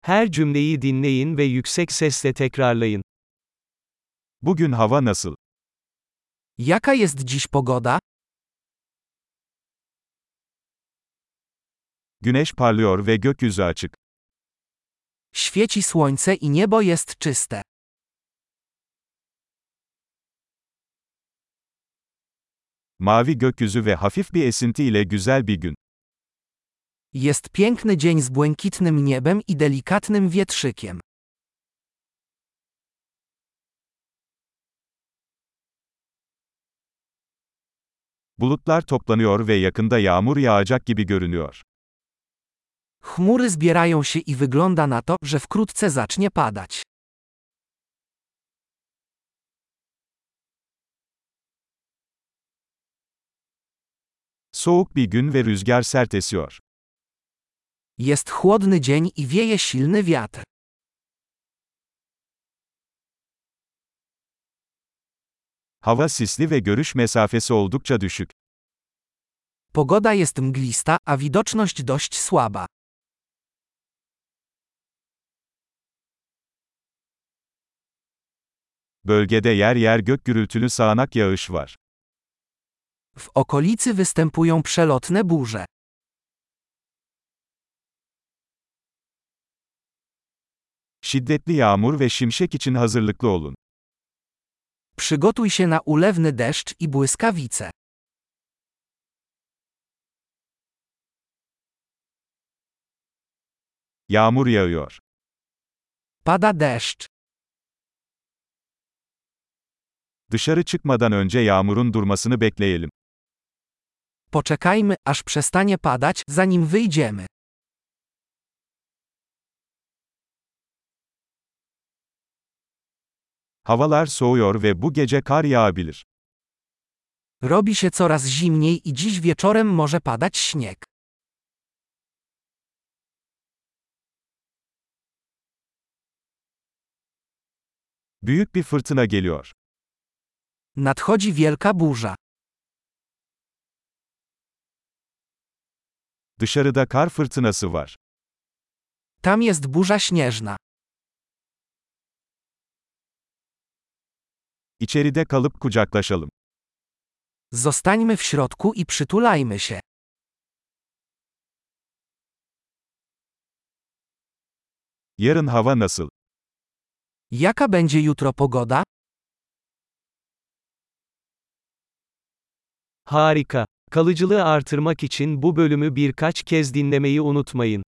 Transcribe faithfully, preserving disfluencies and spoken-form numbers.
Her cümleyi dinleyin ve yüksek sesle tekrarlayın. Bugün hava nasıl? Jaka jest dziś pogoda? Güneş parlıyor ve gökyüzü açık. Świeci słońce i niebo jest czyste. Mavi gökyüzü ve hafif bir esinti ile güzel bir gün. Jest piękny dzień z błękitnym niebem i delikatnym wietrzykiem. Bulutlar toplanıyor ve yakında yağmur yağacak gibi görünüyor. Chmury zbierają się i wygląda na to, że wkrótce zacznie padać. Soğuk bir gün ve rüzgar sert esiyor. Jest chłodny dzień i wieje silny wiatr. Hava sisli ve görüş mesafesi oldukça düşük. Pogoda jest mglista, a widoczność dość słaba. Bölgede yer yer gök gürültülü sağanak yağış var. W okolicy występują przelotne burze. Şiddetli yağmur ve şimşek için hazırlıklı olun. Przygotuj się na ulewny deszcz i błyskawice. Yağmur yağıyor. Pada deszcz. Dışarı çıkmadan önce yağmurun durmasını bekleyelim. Poczekajmy, aż przestanie padać, zanim wyjdziemy. Havalar soğuyor ve bu gece kar yağabilir. Robi się coraz zimniej i dziś wieczorem może padać śnieg. Büyük bir fırtına geliyor. Nadchodzi wielka burza. Dışarıda kar fırtınası var. Tam jest burza śnieżna. İçeride kalıp kucaklaşalım. Zostańmy w środku i przytulajmy się. Yarın hava nasıl? Jaka będzie jutro pogoda? Harika. Kalıcılığı artırmak için bu bölümü birkaç kez dinlemeyi unutmayın.